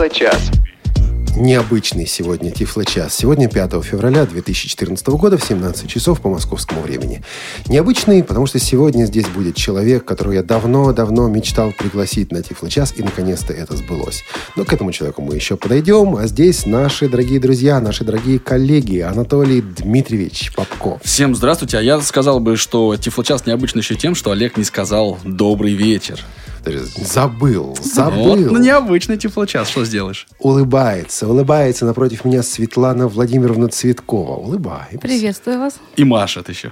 Тифло-час. Необычный сегодня Тифло-час. Сегодня 5 февраля 2014 года в 17 часов по московскому времени. Необычный, потому что сегодня здесь будет человек, которого я давно-давно мечтал пригласить на Тифло-час, и наконец-то это сбылось. Но к этому человеку мы еще подойдем. А здесь наши дорогие друзья, наши дорогие коллеги Анатолий Дмитриевич Попков. Всем здравствуйте. А я сказал бы, что Тифло-час необычный еще тем, что Олег не сказал «добрый вечер». Забыл. Вот, необычный Тифло-час, что сделаешь? Улыбается напротив меня Светлана Владимировна Цветкова. Улыбаемся. Приветствую вас. И машет еще.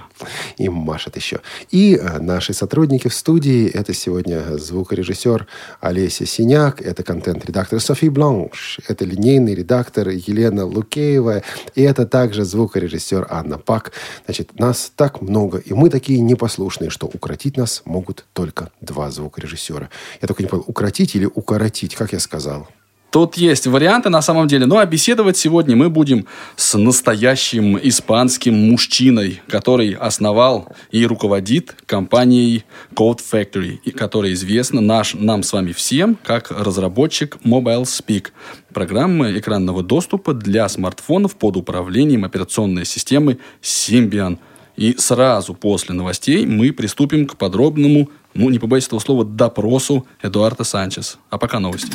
И наши сотрудники в студии. Это сегодня звукорежиссер Олеся Синяк. Это контент-редактор Софи Бланш. Это линейный редактор Елена Лукеева. И это также звукорежиссер Анна Пак. Значит, нас так много. И мы такие непослушные, что укротить нас могут только два звукорежиссера. Я только не понял, укротить или укоротить, как я сказал? Тут есть варианты на самом деле. Ну, а беседовать сегодня мы будем с настоящим испанским мужчиной, который основал и руководит компанией Code Factory, и которая известна нам с вами всем как разработчик Mobile Speak, программы экранного доступа для смартфонов под управлением операционной системы Symbian. И сразу после новостей мы приступим к подробному, не побоюсь этого слова, допросу Эдуарда Санчес. А пока новости.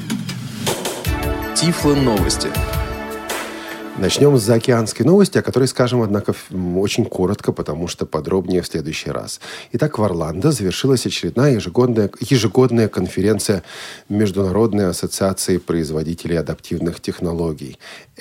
Тифло новости. Начнем с заокеанской новости, о которой скажем, однако, очень коротко, потому что подробнее в следующий раз. Итак, в Орландо завершилась очередная ежегодная конференция Международной ассоциации производителей адаптивных технологий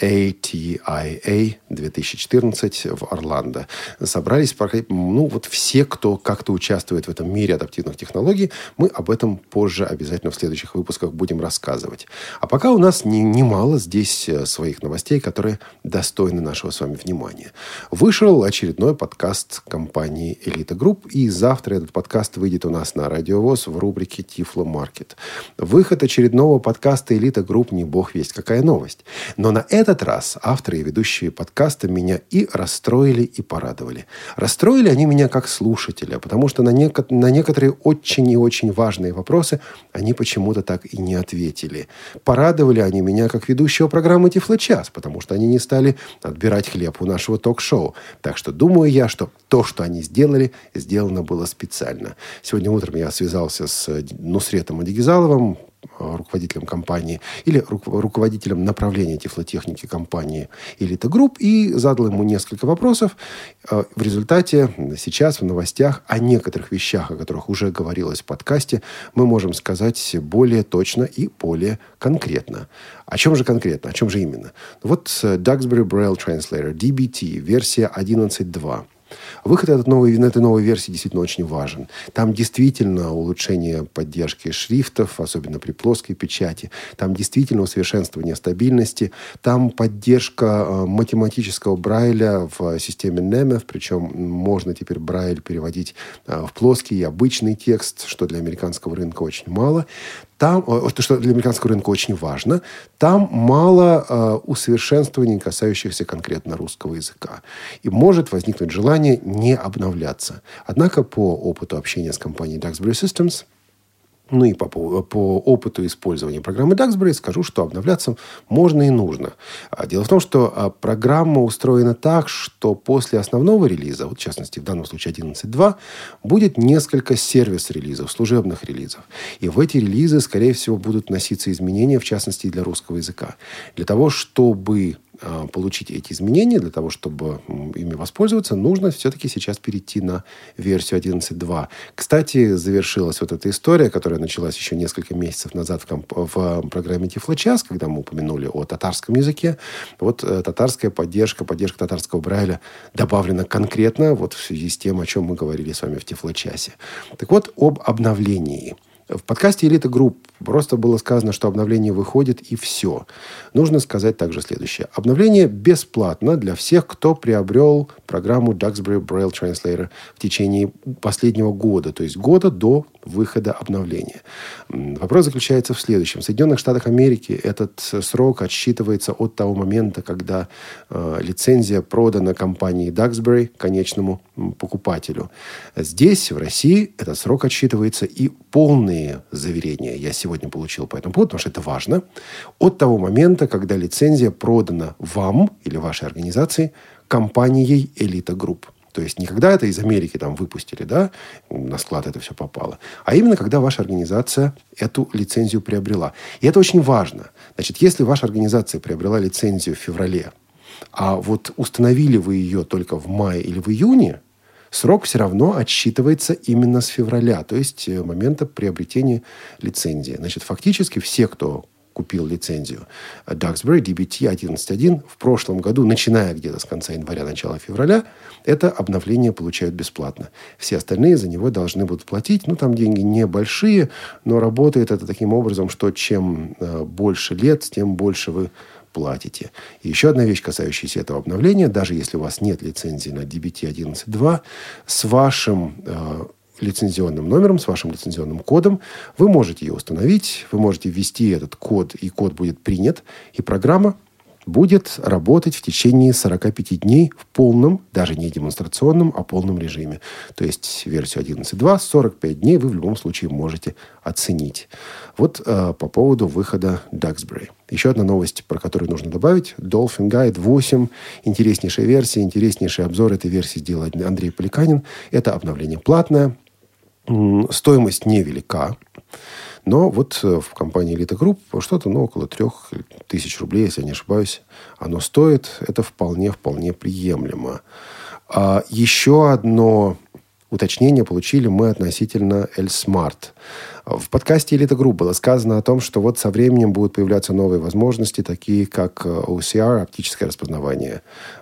ATIA 2014 в Орландо. Собрались все, кто как-то участвует в этом мире адаптивных технологий. Мы об этом позже обязательно в следующих выпусках будем рассказывать. А пока у нас немало здесь своих новостей, которые достойны нашего с вами внимания. Вышел очередной подкаст компании «Элита Групп», и завтра этот подкаст выйдет у нас на Радио ВОС в рубрике «Тифло Маркет». Выход очередного подкаста «Элита Групп» не бог весть какая новость. Но на этот раз авторы и ведущие подкаста меня и расстроили, и порадовали. Расстроили они меня как слушателя, потому что на некоторые очень и очень важные вопросы они почему-то так и не ответили. Порадовали они меня как ведущего программы «Тифло-час», потому что они не стали отбирать хлеб у нашего ток-шоу. Так что думаю я, что то, что они сделали, сделано было специально. Сегодня утром я связался с Нусретом Адигизаловым, руководителем компании или руководителем направления тифлотехники компании «Элита Групп», и задал ему несколько вопросов. В результате сейчас в новостях о некоторых вещах, о которых уже говорилось в подкасте, мы можем сказать более точно и более конкретно. О чем же конкретно? О чем же именно? Вот Duxbury Braille Translator, DBT, версия 11.2. Выход этой новой версии действительно очень важен. Там действительно улучшение поддержки шрифтов, особенно при плоской печати. Там действительно усовершенствование стабильности. Там поддержка математического Брайля в системе NEMEF. Причем можно теперь Брайль переводить в плоский и обычный текст, что для американского рынка очень мало. Что для американского рынка очень важно, там мало усовершенствований, касающихся конкретно русского языка. И может возникнуть желание не обновляться. Однако по опыту общения с компанией Duxbury Systems, и по опыту использования программы Duxbury скажу, что обновляться можно и нужно. Дело в том, что программа устроена так, что после основного релиза, в частности, в данном случае 11.2, будет несколько сервис-релизов, служебных релизов. И в эти релизы, скорее всего, будут вноситься изменения, в частности, и для русского языка. Для того, чтобы получить эти изменения, для того, чтобы ими воспользоваться, нужно все-таки сейчас перейти на версию 11.2. Кстати, завершилась вот эта история, которая началась еще несколько месяцев назад в программе Тифло-час, когда мы упомянули о татарском языке. Вот татарская поддержка татарского Брайля добавлена конкретно в связи с тем, о чем мы говорили с вами в Тифло-часе. Так вот, об обновлении. В подкасте «Элита Групп» просто было сказано, что обновление выходит, и все. Нужно сказать также следующее. Обновление бесплатно для всех, кто приобрел программу Duxbury Braille Translator в течение последнего года, то есть года до выхода обновления. Вопрос заключается в следующем. В Соединенных Штатах Америки этот срок отсчитывается от того момента, когда лицензия продана компании Duxbury конечному покупателю. Здесь, в России, этот срок отсчитывается и полные заверения. Я сегодня получил по этому поводу, потому что это важно, от того момента, когда лицензия продана вам или вашей организации компанией «Элита Групп». То есть не когда это из Америки там выпустили, да, на склад это все попало, а именно когда ваша организация эту лицензию приобрела. И это очень важно. Значит, если ваша организация приобрела лицензию в феврале, а вот установили вы ее только в мае или в июне, срок все равно отсчитывается именно с февраля, то есть момента приобретения лицензии. Значит, фактически все, кто купил лицензию Duxbury DBT 11.1 в прошлом году, начиная где-то с конца января, начала февраля, это обновление получают бесплатно. Все остальные за него должны будут платить. Ну, там деньги небольшие, но работает это таким образом, что чем больше лет, тем больше вы платите. И еще одна вещь, касающаяся этого обновления. Даже если у вас нет лицензии на DBT 11.2, с вашим лицензионным номером, с вашим лицензионным кодом, вы можете ее установить, вы можете ввести этот код, и код будет принят, и программа будет работать в течение 45 дней в полном, даже не демонстрационном, а полном режиме. То есть версию 11.2, 45 дней вы в любом случае можете оценить. Вот по поводу выхода Duxbury. Еще одна новость, про которую нужно добавить. Dolphin Guide 8. Интереснейшая версия, интереснейший обзор этой версии сделал Андрей Поликанин. Это обновление платное. Стоимость невелика. Но вот в компании «Элита Групп» что-то около 3000 рублей, если я не ошибаюсь, оно стоит. Это вполне приемлемо. А еще одно уточнение получили мы относительно L-Smart. В подкасте «Элита Групп» было сказано о том, что вот со временем будут появляться новые возможности, такие как OCR, оптическое распознавание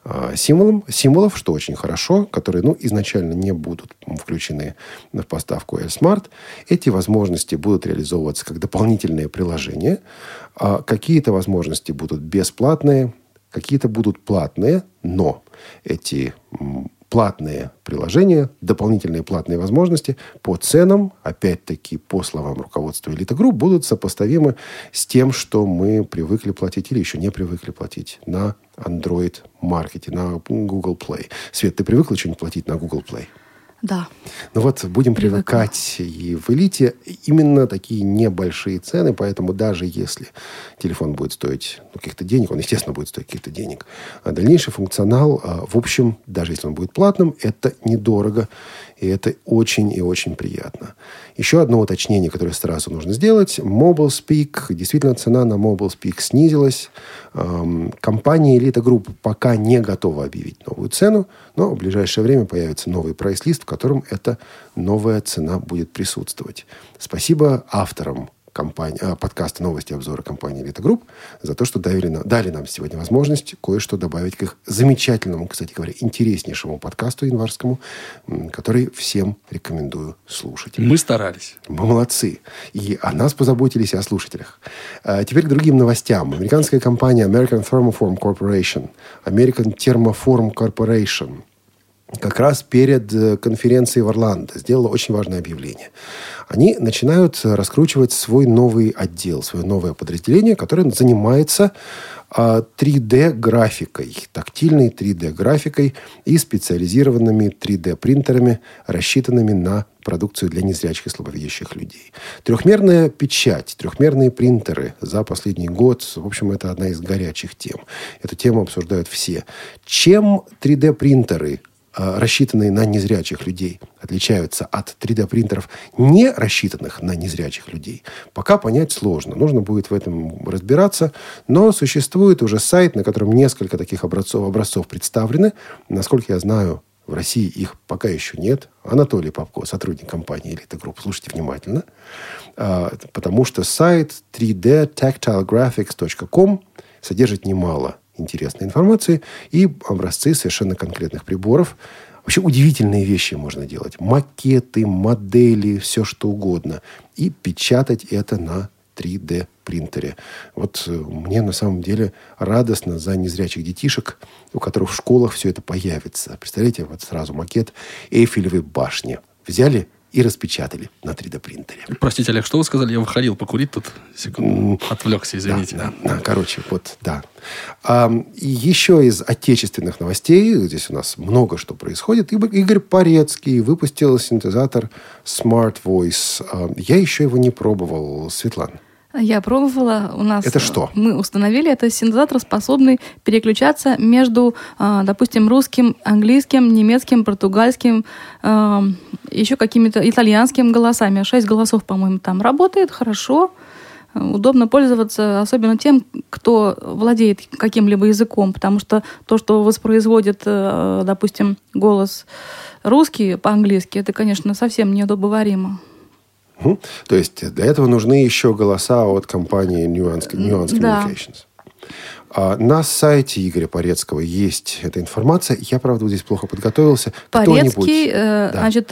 символов, что очень хорошо, которые изначально не будут включены в поставку L-Smart. Эти возможности будут реализовываться как дополнительные приложения. Какие-то возможности будут бесплатные, какие-то будут платные, но эти платные приложения, дополнительные платные возможности по ценам, опять-таки, по словам руководства «Элита Групп», будут сопоставимы с тем, что мы привыкли платить или еще не привыкли платить на Android-маркете, на Google Play. Свет, ты привыкла что-нибудь платить на Google Play? Да. Ну вот будем привыкать и в «Элите» именно такие небольшие цены, поэтому даже если телефон будет стоить каких-то денег, он, естественно, будет стоить каких-то денег, а дальнейший функционал, в общем, даже если он будет платным, это недорого, и это очень и очень приятно. Еще одно уточнение, которое сразу нужно сделать. Mobile Speak. Действительно, цена на Mobile Speak снизилась. Компания «Элита Групп» пока не готова объявить новую цену, но в ближайшее время появится новый прайс-лист, в котором эта новая цена будет присутствовать. Спасибо авторам подкаста «Новости и обзоры» компании «Элита Групп» за то, что дали нам сегодня возможность кое-что добавить к их замечательному, кстати говоря, интереснейшему подкасту январскому, который всем рекомендую слушать. Мы старались. Мы молодцы. И о нас позаботились, и о слушателях. Теперь к другим новостям. Американская компания American Thermoform Corporation, American Thermoform Corporation, как раз перед конференцией в Орландо сделала очень важное объявление. Они начинают раскручивать свой новый отдел, свое новое подразделение, которое занимается 3D-графикой, тактильной 3D-графикой и специализированными 3D-принтерами, рассчитанными на продукцию для незрячих и слабовидящих людей. Трехмерная печать, трехмерные принтеры за последний год, в общем, это одна из горячих тем. Эту тему обсуждают все. Чем 3D-принтеры, рассчитанные на незрячих людей, отличаются от 3D-принтеров, не рассчитанных на незрячих людей, пока понять сложно. Нужно будет в этом разбираться. Но существует уже сайт, на котором несколько таких образцов представлены. Насколько я знаю, в России их пока еще нет. Анатолий Попко, сотрудник компании «Элита Групп», слушайте внимательно. Потому что сайт 3dtactilegraphics.com содержит немало интересной информации и образцы совершенно конкретных приборов. Вообще удивительные вещи можно делать. Макеты, модели, все что угодно. И печатать это на 3D-принтере. Вот мне на самом деле радостно за незрячих детишек, у которых в школах все это появится. Представляете, вот сразу макет Эйфелевой башни. Взяли и распечатали на 3D-принтере. Простите, Олег, что вы сказали? Я выходил покурить тут. Секунду. Отвлекся, извините. Короче, вот, да. И еще из отечественных новостей, здесь у нас много что происходит. Игорь Порецкий выпустил синтезатор Smart Voice. Я еще его не пробовал. Светлана. Я пробовала. У нас это что? Мы установили. Это синтезатор, способный переключаться между, допустим, русским, английским, немецким, португальским, еще какими-то итальянскими голосами. 6 голосов, по-моему, там работает хорошо. Удобно пользоваться, особенно тем, кто владеет каким-либо языком, потому что то, что воспроизводит, допустим, голос русский по-английски, это, конечно, совсем неудобоваримо. То есть для этого нужны еще голоса от компании Nuance Communications. Да. На сайте Игоря Порецкого есть эта информация. Я, правда, здесь плохо подготовился. Порецкий, значит,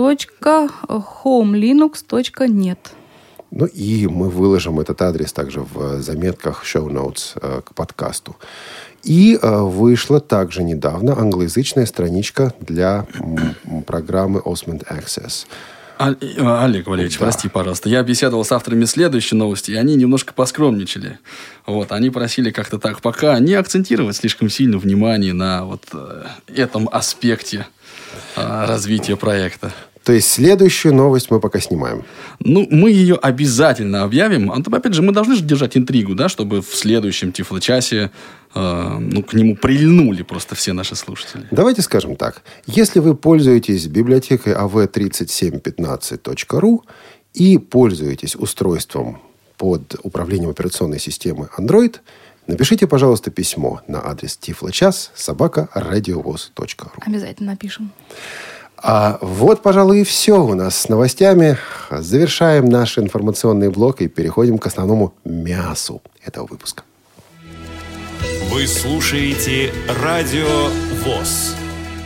.homelinux.net. Ну и мы выложим этот адрес также в заметках show notes к подкасту. И вышла также недавно англоязычная страничка для программы Osmond Access. Олег Валерьевич, прости, пожалуйста. Я беседовал с авторами следующей новости, и они немножко поскромничали. Вот, они просили как-то так пока не акцентировать слишком сильно внимание на вот этом аспекте развития проекта. То есть следующую новость мы пока снимаем. Ну, мы ее обязательно объявим. Опять же, мы должны же держать интригу, да, чтобы в следующем Тифлочасе к нему прильнули просто все наши слушатели. Давайте скажем так. Если вы пользуетесь библиотекой av3715.ru и пользуетесь устройством под управлением операционной системы Android, напишите, пожалуйста, письмо на адрес tifloчас@radiovoz.ru. Обязательно напишем. Вот, пожалуй, и все у нас с новостями. Завершаем наш информационный блок и переходим к основному мясу этого выпуска. Вы слушаете Радио ВОС.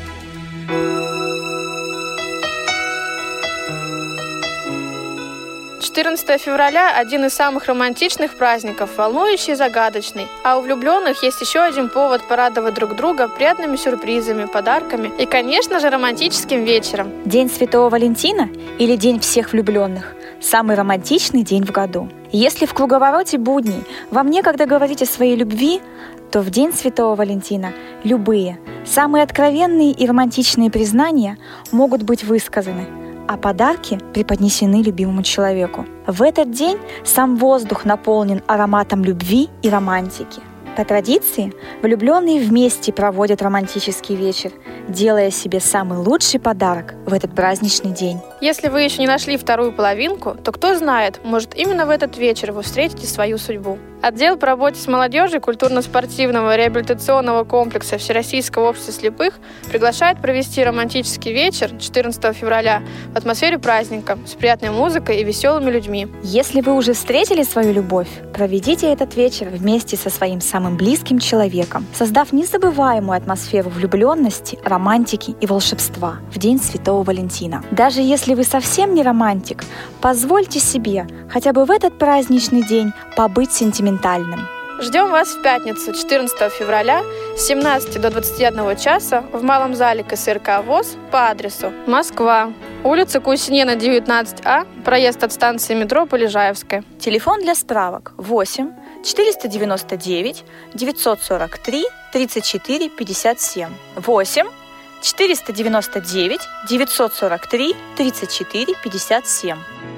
«14 февраля – один из самых романтичных праздников, волнующий и загадочный. А у влюбленных есть еще один повод порадовать друг друга приятными сюрпризами, подарками и, конечно же, романтическим вечером. День Святого Валентина или День всех влюбленных – самый романтичный день в году. Если в круговороте будней вам некогда говорить о своей любви, то в День Святого Валентина любые, самые откровенные и романтичные признания могут быть высказаны, а подарки преподнесены любимому человеку. В этот день сам воздух наполнен ароматом любви и романтики. По традиции, влюбленные вместе проводят романтический вечер, делая себе самый лучший подарок в этот праздничный день. Если вы еще не нашли вторую половинку, то кто знает, может, именно в этот вечер вы встретите свою судьбу. Отдел по работе с молодежью культурно-спортивного реабилитационного комплекса Всероссийского общества слепых приглашает провести романтический вечер 14 февраля в атмосфере праздника с приятной музыкой и веселыми людьми. Если вы уже встретили свою любовь, проведите этот вечер вместе со своим самым близким человеком, создав незабываемую атмосферу влюбленности, романтики и волшебства в День Святого Валентина. Даже если вы совсем не романтик, позвольте себе хотя бы в этот праздничный день побыть сентиментальным. Ждем вас в пятницу, 14 февраля с 17 до 21 часа в Малом зале КСРК ВОС по адресу Москва, улица Кусинена, 19А, проезд от станции метро Полежаевская. Телефон для справок 8 499 943 34 57. 8 499 943 34 57.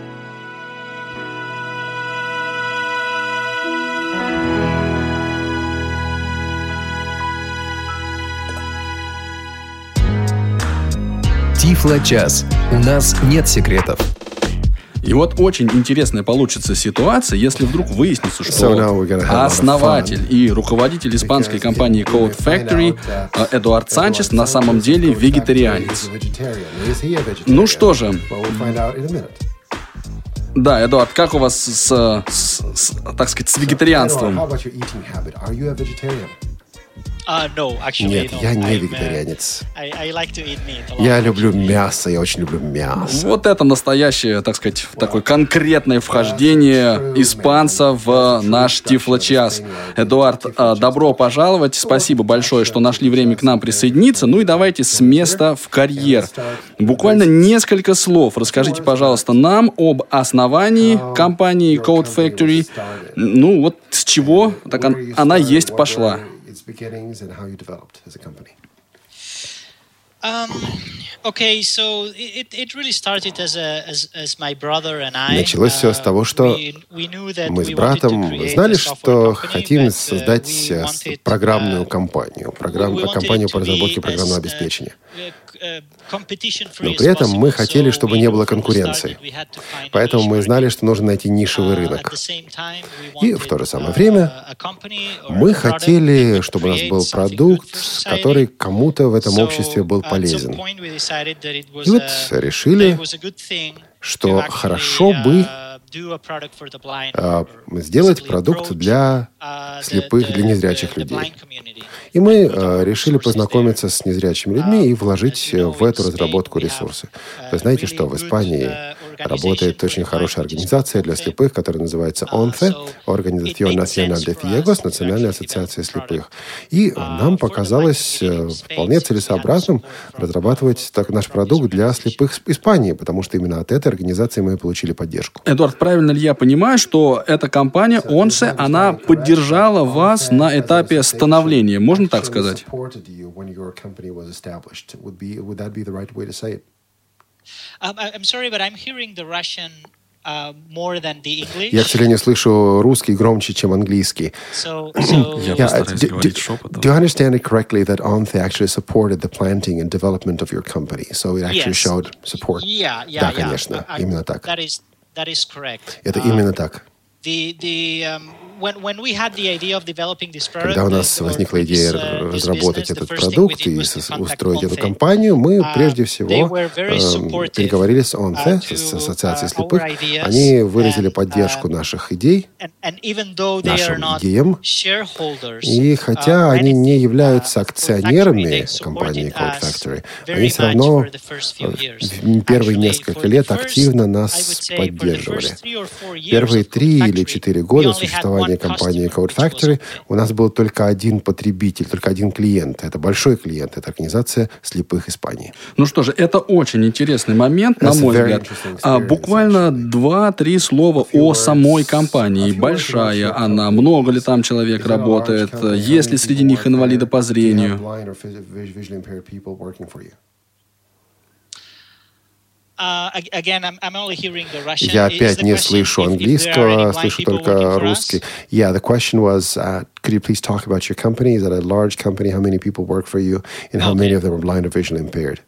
Тифлочас. У нас нет секретов. И вот очень интересная получится ситуация, если вдруг выяснится, что основатель и руководитель испанской компании Code Factory Эдуард Санчес на самом деле вегетарианец. Ну что же. Да, Эдуард, как у вас так сказать, с вегетарианством? Нет, я не вегетарианец. Я люблю мясо, я очень люблю мясо. Вот это настоящее, так сказать, такое конкретное вхождение испанца в наш Тифло-час. Эдуард, добро пожаловать. Спасибо большое, что нашли время к нам присоединиться. Ну и давайте с места в карьер. Буквально несколько слов. Расскажите, пожалуйста, нам об основании компании Code Factory. Ну вот с чего так она есть пошла. Началось все с того, что мы с братом знали, что хотим создать программную компанию, компанию по разработке программного обеспечения. Но при этом мы хотели, чтобы не было конкуренции. Поэтому мы знали, что нужно найти нишевый рынок. И в то же самое время мы хотели, чтобы у нас был продукт, который кому-то в этом обществе был полезен. И вот решили, что хорошо бы сделать продукт для слепых, для незрячих людей. И мы решили познакомиться с незрячими людьми и вложить в эту разработку ресурсы. Вы знаете, что в Испании работает очень хорошая организация для слепых, которая называется ONCE, Organización Nacional de Ciegos, Национальная ассоциация слепых. И нам показалось вполне целесообразным разрабатывать наш продукт для слепых в Испании, потому что именно от этой организации мы получили поддержку. Эдуард, правильно ли я понимаю, что эта компания ONCE, она поддержала вас на этапе становления? Можно так сказать? Я, к сожалению, слышу русский громче, чем английский. Я постараюсь говорить шепотом. Do you understand it correctly that ONCE actually supported the planting and development of your company? So it actually showed support. Да, конечно, именно так. Это именно так. Когда у нас возникла идея разработать этот продукт и устроить эту компанию, мы прежде всего переговорили с ONCE, с Ассоциацией слепых. Они выразили поддержку наших идей, нашим идеям. И хотя они не являются акционерами компании Code Factory, они все равно первые несколько лет активно нас поддерживали. Первые 3 или 4 года существования компании Code Factory у нас был только один потребитель, только один клиент. Это большой клиент, это организация слепых Испании. Ну что же, это очень интересный момент, на мой взгляд. Буквально 2-3 слова о самой компании. Большая она, много ли там человек работает, есть ли среди них инвалиды по зрению? Я опять не слышу английского, слышу только русский. Yeah, the question was, could you please talk about your company? Is that a large company? How many people work for you? And how many of them are blind or visually impaired?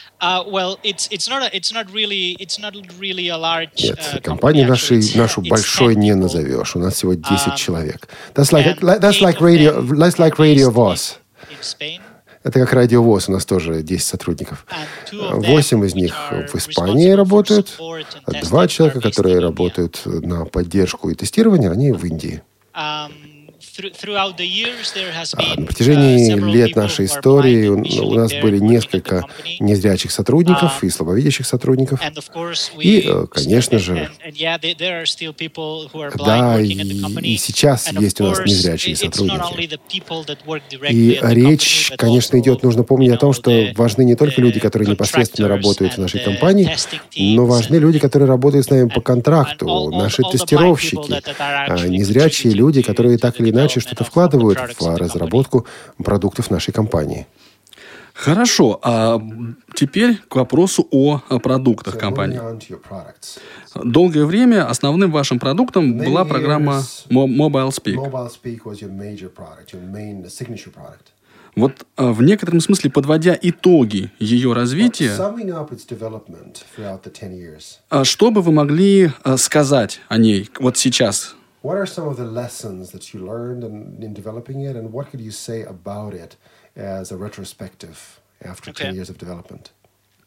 Нет, компанию нашу большой не назовешь. У нас всего 10 человек. That's like Radio VOS. Это как Радио ВОС, у нас тоже 10 сотрудников. 8 из них в Испании работают, а 2 человека, которые работают на поддержку и тестирование, они в Индии. На протяжении лет нашей истории у нас были несколько незрячих сотрудников и слабовидящих сотрудников. И, конечно же, да, и сейчас есть у нас незрячие сотрудники. И речь, конечно, идет, нужно помнить о том, что важны не только люди, которые непосредственно работают в нашей компании, но важны люди, которые работают с нами по контракту, наши тестировщики, незрячие люди, которые так или иначе что-то вкладывают в разработку продуктов нашей компании. Хорошо, а теперь к вопросу о продуктах компании. Долгое время основным вашим продуктом была программа Mobile Speak. Вот в некотором смысле, подводя итоги ее развития, что бы вы могли сказать о ней вот сейчас? What are some of the lessons that you learned in developing it, and what could you say about it as a retrospective after 10 years of development?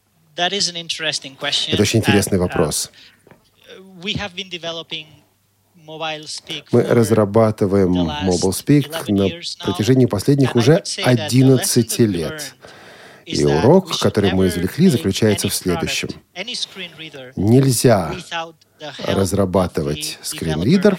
That is an interesting question. Это очень интересный вопрос. We have been developing Мы разрабатываем MobileSpeak на протяжении последних уже 11 лет. И урок, который мы извлекли, заключается в следующем. Нельзя разрабатывать скринридер,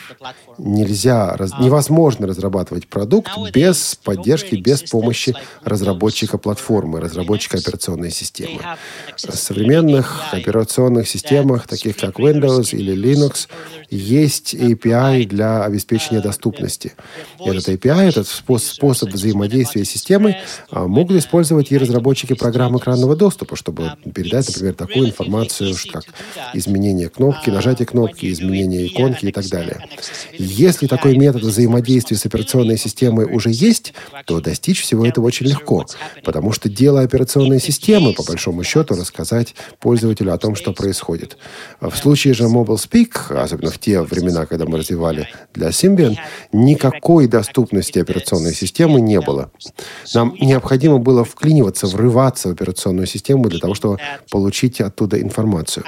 невозможно разрабатывать продукт без поддержки, без помощи разработчика платформы, разработчика операционной системы. В современных операционных системах, таких как Windows или Linux, есть API для обеспечения доступности. И этот API, этот способ взаимодействия с системой, могут использовать и разработчики программ экранного доступа, чтобы передать, например, такую информацию, как изменение кнопки, нажатие кнопки, изменение иконки и так далее. Если такой метод взаимодействия с операционной системой уже есть, то достичь всего этого очень легко, потому что дело операционной системы, по большому счету, рассказать пользователю о том, что происходит. В случае же MobileSpeak, особенно в те времена, когда мы развивали для Symbian, никакой доступности операционной системы не было. Нам необходимо было вклиниваться, врываться в операционную систему для того, чтобы получить оттуда информацию.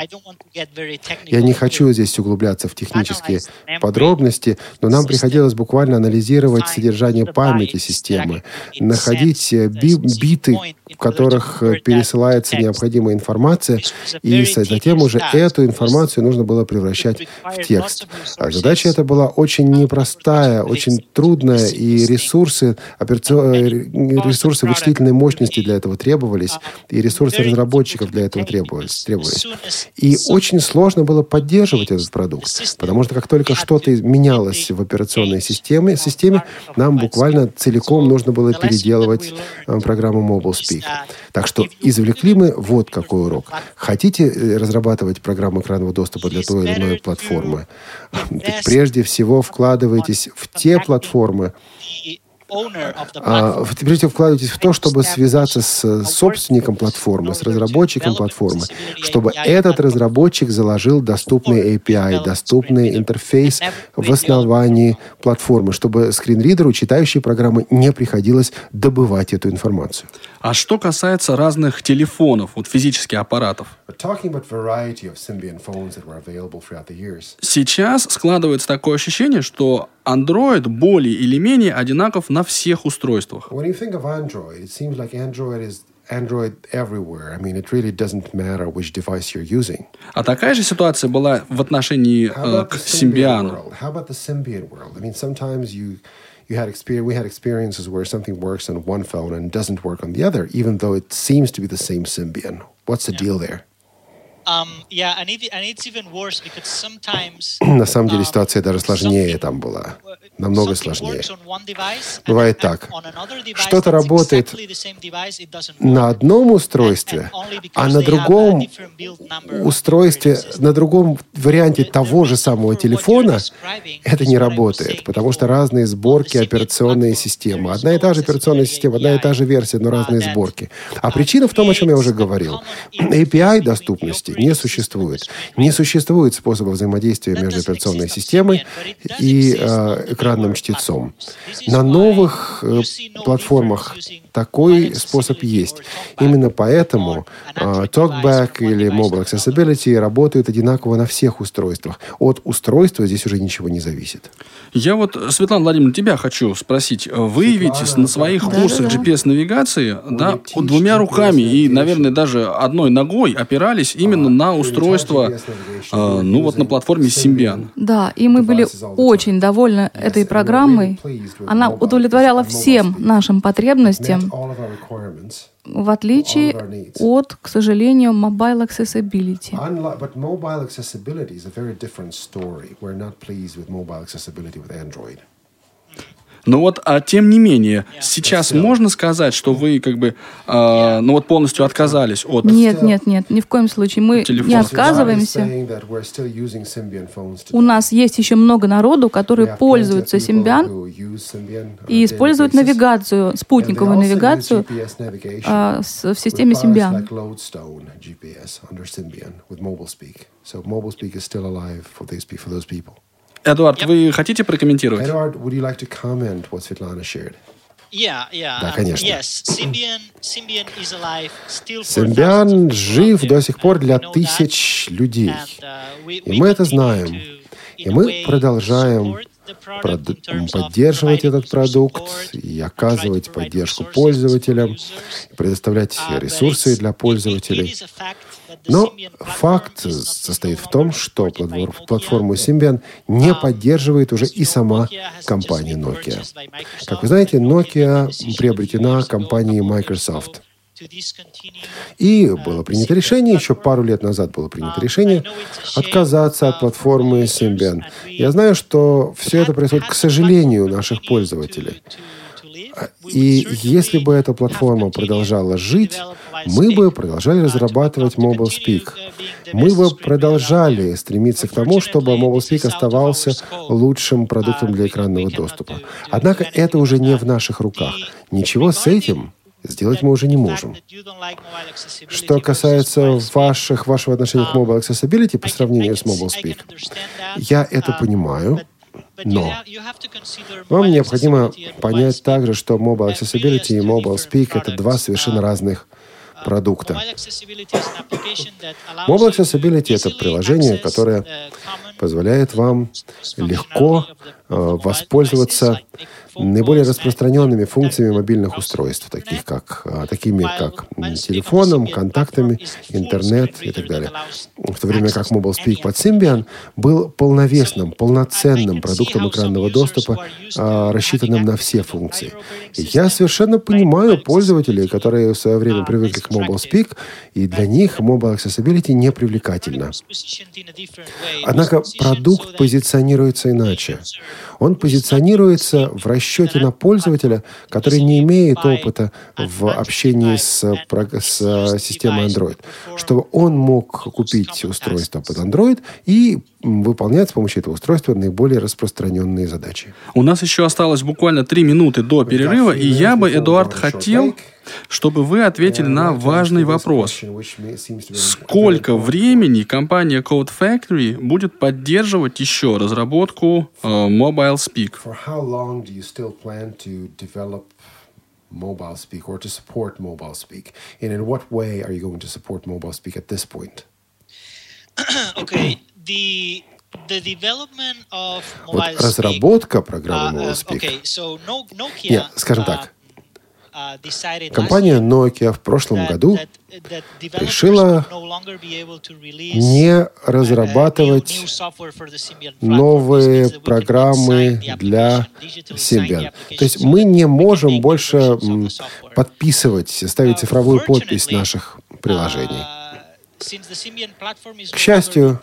Я не хочу здесь углубляться в технические подробности, но нам приходилось буквально анализировать содержание памяти системы, находить биты, в которых пересылается необходимая информация, и затем уже эту информацию нужно было превращать в текст. А задача эта была очень непростая, очень трудная, и ресурсы вычислительной мощности для этого требовались, и ресурсы разработчиков для этого требовались. И очень сложно было поддерживать этот продукт, потому что как только что-то менялось в операционной системе, нам буквально целиком нужно было переделывать программу MobileSpeak. Так что извлекли мы вот какой урок. Хотите разрабатывать программу экранного доступа для той или иной платформы? Прежде всего вкладывайтесь в те платформы, прежде всего вкладывайтесь в то, чтобы связаться с собственником платформы, с разработчиком платформы, чтобы этот разработчик заложил доступный API, доступный интерфейс в основании платформы, чтобы скринридеру, читающей программы, не приходилось добывать эту информацию. А что касается разных телефонов, вот физических аппаратов? Сейчас складывается такое ощущение, что Android более или менее одинаков на всех устройствах. Android everywhere. I mean, it really doesn't matter which device you're using. А такая же ситуация была в отношении к Symbian. How about the Symbian world? I mean, sometimes we had experiences where something works on one phone and doesn't work on the other, even though it seems to be the same Symbian. What's the deal there? На самом деле ситуация даже сложнее там была. Намного сложнее. Бывает так. Что-то работает на одном устройстве, а на другом устройстве, на другом варианте того же самого телефона это не работает, потому что разные сборки операционной системы. Одна и та же операционная система, одна и та же версия, но разные сборки. А причина в том, о чем я уже говорил. API доступности не существует. Не существует способа взаимодействия между операционной системой и экранным чтецом. На новых платформах такой способ есть. Именно поэтому TalkBack или Mobile Accessibility работают одинаково на всех устройствах. От устройства здесь уже ничего не зависит. Я вот, Светлана Владимировна, тебя хочу спросить. Вы ведь на своих курсах GPS-навигации двумя руками и, наверное, даже одной ногой опирались именно на устройство, на платформе Symbian. Да, и мы были очень довольны этой программой. Она удовлетворяла всем нашим потребностям, в отличие от, к сожалению, Mobile Accessibility. But mobile accessibility is a very different story. We're not pleased with mobile accessibility with Android. Но вот, тем не менее, сейчас можно сказать, что вы полностью отказались от... Нет, ни в коем случае. Мы не отказываемся. У нас есть еще много народу, которые пользуются Symbian и используют навигацию, спутниковую навигацию в системе Symbian. Эдуард, вы хотите прокомментировать? Эдуард, would you like to comment what Svetlana shared? Да, конечно. Symbian жив до сих пор для тысяч людей. И мы это знаем. И мы продолжаем поддерживать этот продукт и оказывать поддержку пользователям, предоставлять ресурсы для пользователей. Но факт состоит в том, что платформу Symbian не поддерживает уже и сама компания Nokia. Как вы знаете, Nokia приобретена компанией Microsoft. И было принято решение, еще пару лет назад было принято решение отказаться от платформы Symbian. Я знаю, что все это происходит, к сожалению, у наших пользователей. И если бы эта платформа продолжала жить, мы бы продолжали разрабатывать MobileSpeak. Мы бы продолжали стремиться к тому, чтобы MobileSpeak оставался лучшим продуктом для экранного доступа. Однако это уже не в наших руках. Ничего с этим сделать мы уже не можем. Что касается вашего отношения к Mobile Accessibility по сравнению с MobileSpeak, я это понимаю, но вам необходимо понять также, что Mobile Accessibility и MobileSpeak — это два совершенно разных продукта. Mobile Accessibility — это приложение, которое позволяет вам легко воспользоваться наиболее распространенными функциями мобильных устройств, такими как телефоном, контактами, интернет и так далее. В то время как MobileSpeak под Symbian был полновесным, полноценным продуктом экранного доступа, рассчитанным на все функции. И я совершенно понимаю пользователей, которые в свое время привыкли к MobileSpeak, и для них Mobile Accessibility не привлекательно. Однако продукт позиционируется иначе. Он позиционируется в расчете на пользователя, который не имеет опыта в общении с системой Android, чтобы он мог купить устройство под Android и выполнять с помощью этого устройства наиболее распространенные задачи. У нас еще осталось буквально 3 минуты до перерыва, и я бы, Эдуард, хотел, чтобы вы ответили на важный вопрос. Сколько времени компания Code Factory будет поддерживать еще разработку MobileSpeak? MobileSpeak or to support MobileSpeak? And in what way are you going to support MobileSpeak at this point? Okay, the development of Вот разработка программы MobileSpeak. Нет, скажем так. Компания Nokia в прошлом году решила не разрабатывать новые программы для Symbian. То есть мы не можем больше подписывать, ставить цифровую подпись наших приложений. К счастью,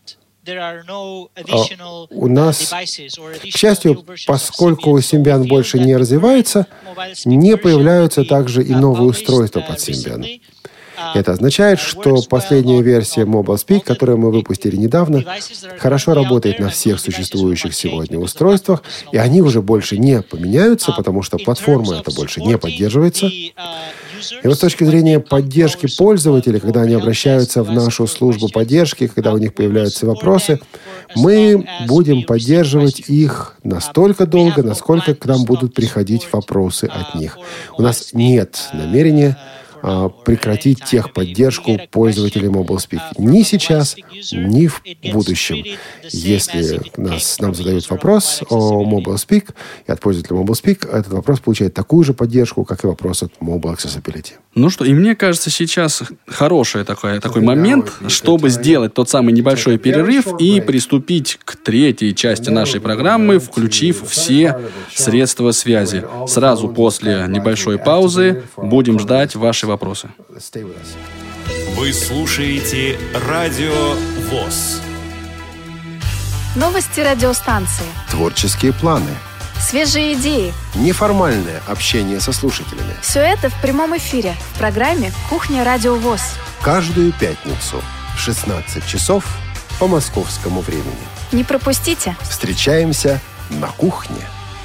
у нас, к счастью, поскольку Symbian больше не развивается, не появляются также и новые устройства под Symbian. Это означает, что последняя версия MobileSpeak, которую мы выпустили недавно, хорошо работает на всех существующих сегодня устройствах, и они уже больше не поменяются, потому что платформа эта больше не поддерживается. И вот с точки зрения поддержки пользователей, когда они обращаются в нашу службу поддержки, когда у них появляются вопросы, мы будем поддерживать их настолько долго, насколько к нам будут приходить вопросы от них. У нас нет намерения прекратить техподдержку пользователей MobileSpeak ни сейчас, ни в будущем. Если нам задают вопрос о MobileSpeak и от пользователя MobileSpeak, этот вопрос получает такую же поддержку, как и вопрос от Mobile Accessibility. Ну что, и мне кажется, сейчас хороший такой момент, чтобы сделать тот самый небольшой перерыв и приступить к третьей части нашей программы, включив все средства связи. Сразу после небольшой паузы будем ждать ваши вопросы. Вы слушаете Радио ВОС. Новости радиостанции. Творческие планы. Свежие идеи. Неформальное общение со слушателями. Все это в прямом эфире в программе «Кухня Радио ВОС». Каждую пятницу в 16 часов по московскому времени. Не пропустите. Встречаемся на кухне.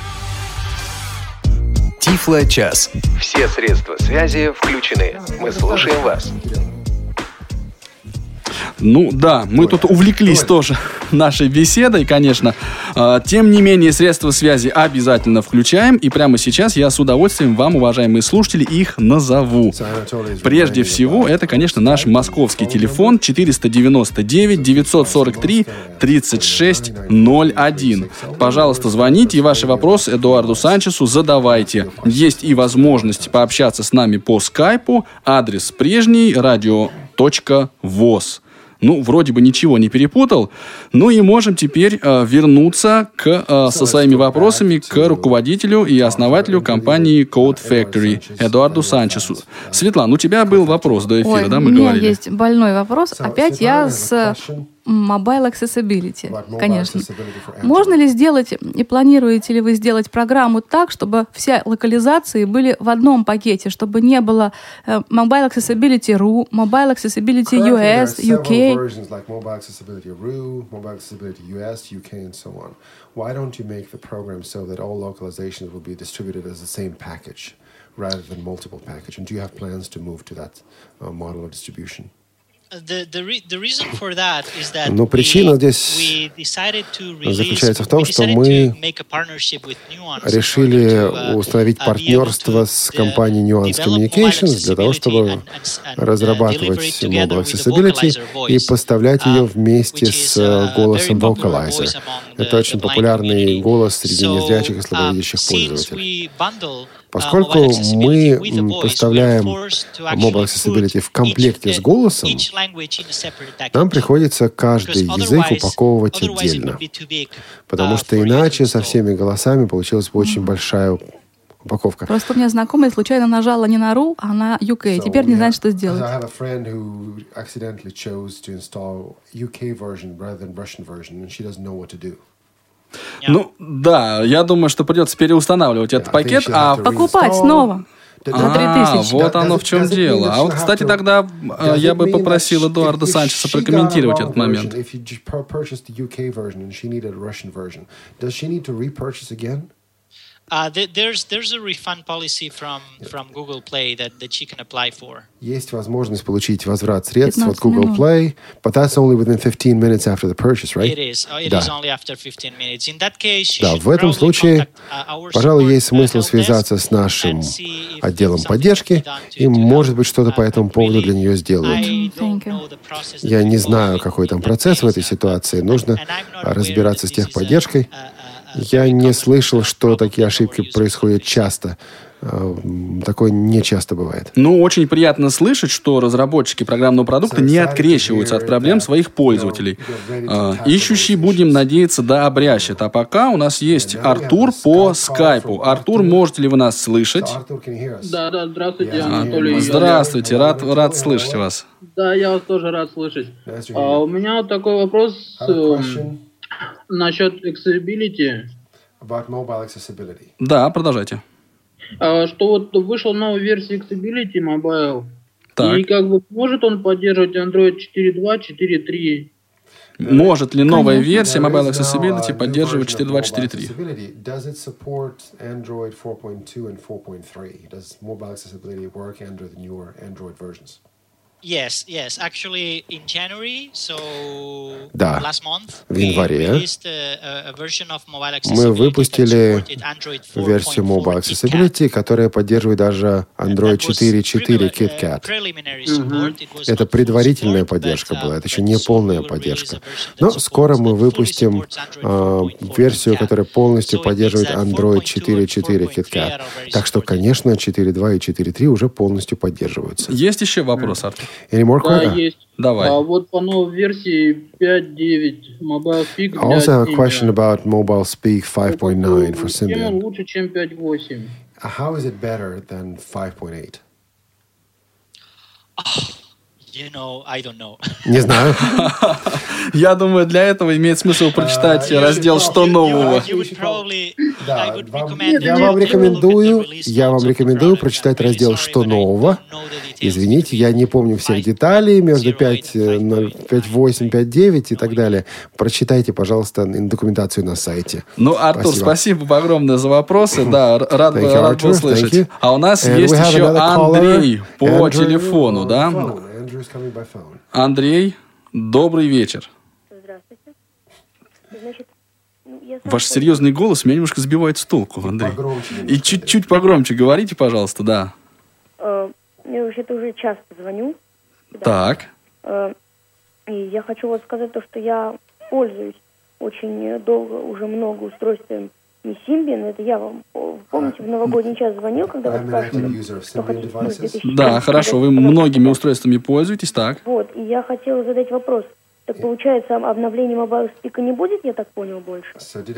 Тифло-час. Все средства связи включены. Мы слушаем вас. Ну да, мы тут увлеклись тоже. нашей беседой, конечно. Тем не менее, средства связи обязательно включаем. И прямо сейчас я с удовольствием вам, уважаемые слушатели, их назову. Прежде всего, это, конечно, наш московский телефон 499-943-3601. Пожалуйста, звоните и ваши вопросы Эдуарду Санчесу задавайте. Есть и возможность пообщаться с нами по скайпу. Адрес прежний radio.voz. Ну, вроде бы ничего не перепутал. Ну и можем теперь вернуться со своими вопросами к руководителю и основателю компании Code Factory Эдуарду Санчесу. Светлана, у тебя был вопрос до эфира, да, мы говорили? У меня есть больной вопрос. Опять я с Mobile Accessibility, конечно. Можно ли сделать, и планируете ли вы сделать программу так, чтобы все локализации были в одном пакете, чтобы не было Mobile Accessibility RU, Mobile Accessibility US, UK? Why don't you make the program so that all localizations will be distributed as the same package rather than multiple package? And do you have plans to move to that model of distribution? Но причина здесь заключается в том, что мы решили установить партнерство с компанией Nuance Communications для того, чтобы разрабатывать Mobile Accessibility и поставлять ее вместе с голосом Vocalizer. Это очень популярный голос среди незрячих и слабовидящих пользователей. Поскольку мы поставляем Mobile Accessibility в комплекте с голосом, нам приходится каждый язык упаковывать отдельно, потому что иначе со всеми голосами получилась бы очень большая упаковка. Просто у меня знакомая случайно нажала не на RU, а на UK. Теперь не знает, что сделать. Ну, да, я думаю, что придется переустанавливать этот пакет, покупать снова. За 3000. Вот оно в чем дело. А вот, кстати, тогда я бы попросил Эдуарда Санчеса прокомментировать этот момент. There's a refund policy from Google Play that she can apply for. Есть возможность получить возврат средств от Google Play, but that's only within 15 minutes after the purchase, right? It is only after 15 minutes. In that case, да, в этом случае, пожалуй, есть смысл связаться с нашим отделом поддержки, и, может быть, что-то по этому поводу для нее сделают. Я не знаю, какой там процесс в этой ситуации. Нужно разбираться с техподдержкой. Я не слышал, что такие ошибки происходят часто. Такое не часто бывает. Ну, очень приятно слышать, что разработчики программного продукта не открещиваются от проблем своих пользователей. Ищущий, будем надеяться, да обрящет. А пока у нас есть Артур по скайпу. Артур, можете ли вы нас слышать? Да, здравствуйте, Анатолий. Здравствуйте, рад слышать вас. Да, я вас тоже рад слышать. У меня вот такой вопрос насчет accessibility. Да, продолжайте. Что вот вышла новая версия Accessibility Mobile, так. И как бы может он поддерживать Android 4.2, 4.3? Может ли новая версия Mobile Accessibility поддерживать 4.2, 4.3? Does it support Android 4.2 and 4.3? Does Mobile Accessibility work under the newer Android versions? Yes. Actually, in January, да, last month, в январе мы выпустили версию Mobile Accessibility, которая поддерживает даже Android 4.4 KitKat. Это предварительная поддержка была, это еще не полная поддержка. Но скоро мы выпустим версию, которая полностью поддерживает Android 4.4 KitKat. Так что, конечно, 4.2 и 4.3 уже полностью поддерживаются. Есть еще вопрос, Артур? Да, есть. Давай. Вот по новой версии 5.9 Mobile Speak. I also have a question about Mobile Speak 5.9 for Symbian. Чем он лучше, чем 5.8? How is it better than 5.8? I don't know. Не знаю. Я думаю, для этого имеет смысл прочитать раздел «Что нового?». Я вам рекомендую прочитать раздел «Что нового?». Извините, я не помню всех деталей между 5.8, 5.9 и так далее. Прочитайте, пожалуйста, документацию на сайте. Ну, Артур, спасибо огромное за вопросы. Да, рад был слышать. А у нас есть еще Андрей по телефону, да? Андрей, добрый вечер. Здравствуйте. Ваш серьезный голос меня немножко сбивает с толку, Андрей. И чуть-чуть погромче говорите, пожалуйста, да. Я вообще-то уже часто звоню. Так. И я хочу вот сказать то, что я пользуюсь очень долго, уже много устройством не Symbian. Это я вам, помните, в новогодний час звонил, когда вы спрашивали, что хотите. Да, хорошо, вы многими устройствами пользуетесь, так. Вот, и я хотела задать вопрос. Так получается, обновление Mobile Speak не будет, я так понял, больше?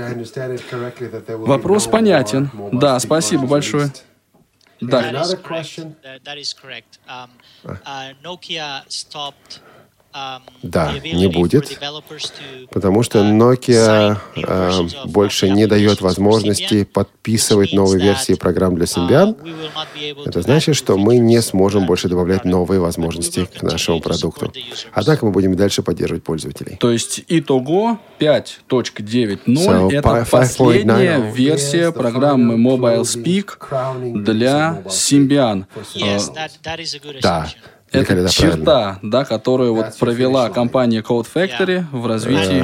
Вопрос понятен. Да, спасибо большое. Да. Да, не будет, потому что Nokia больше не дает возможности подписывать новые версии программ для Symbian. Это значит, что мы не сможем больше добавлять новые возможности к нашему продукту. Однако мы будем дальше поддерживать пользователей. То есть итого 5.9.0 это последняя версия программы Mobile Speak для Symbian. Да. Это черта, да, которую вот провела компания Code Factory в развитии.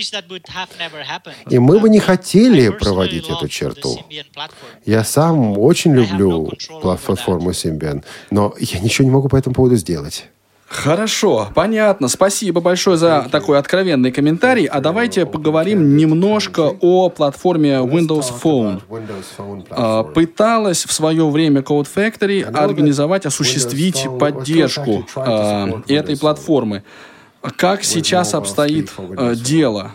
И мы бы не хотели проводить эту черту. Я сам очень люблю платформу Symbian, но я ничего не могу по этому поводу сделать. Хорошо, понятно. Спасибо большое за такой откровенный комментарий. А давайте поговорим немножко о платформе Windows Phone. Пыталась в свое время Code Factory организовать, осуществить поддержку этой платформы. Как сейчас обстоит дело?